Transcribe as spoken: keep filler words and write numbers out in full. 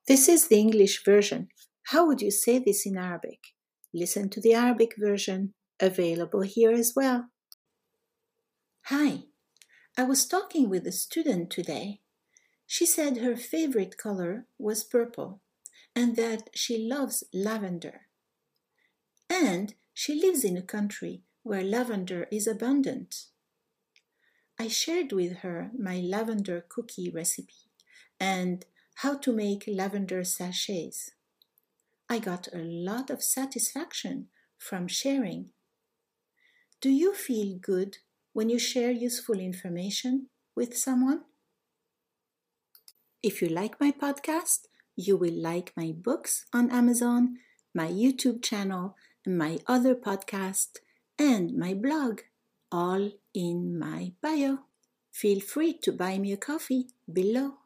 This is the English version. How would you say this in Arabic? Listen to the Arabic version, available here as well. Hi, I was talking with a student today. She said her favorite color was purple and that she loves lavender. And she lives in a country where lavender is abundant. I shared with her my lavender cookie recipe and how to make lavender sachets. I got a lot of satisfaction from sharing. Do you feel good when you share useful information with someone? If you like my podcast, you will like my books on Amazon, my YouTube channel, my other podcast, and my blog, all in my bio. Feel free to buy me a coffee below.